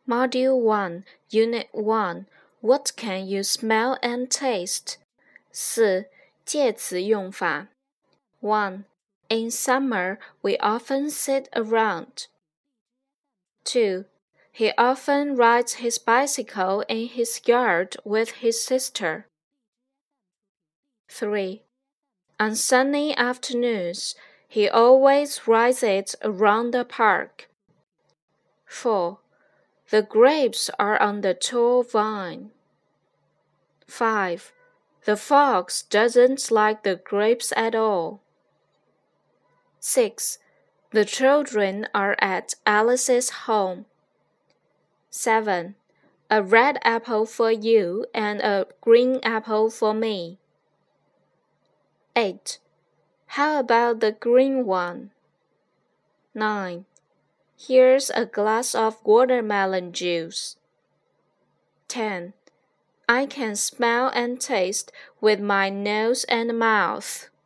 Module 1, Unit 1, What can you smell and taste? 4. 介词用法 1. In summer, we often sit around. 2. He often rides his bicycle in his yard with his sister. 3. On sunny afternoons, he always rides it around the park. 4. The grapes are on the tall vine. 5. The fox doesn't like the grapes at all. 6. The children are at Alice's home. 7. A red apple for you and a green apple for me. 8. How about the green one? 9. Here's a glass of watermelon juice. 10. I can smell and taste with my nose and mouth.